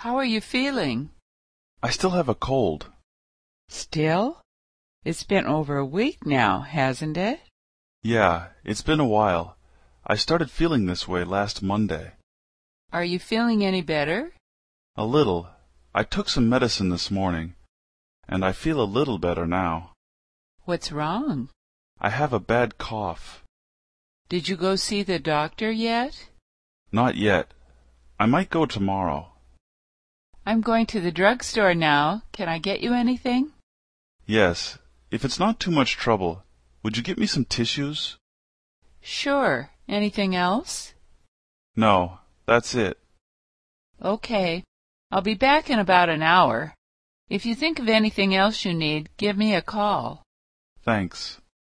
How are you feeling? I still have a cold. Still? It's been over a week now, hasn't it? Yeah, it's been a while. I started feeling this way last Monday. Are you feeling any better? A little. I took some medicine this morning, and I feel a little better now. What's wrong? I have a bad cough. Did you go see the doctor yet? Not yet. I might go tomorrow. I'm going to the drugstore now. Can I get you anything? Yes, if it's not too much trouble, would you get me some tissues? Sure. Anything else? No, that's it. Okay. I'll be back in about an hour. If you think of anything else you need, give me a call. Thanks.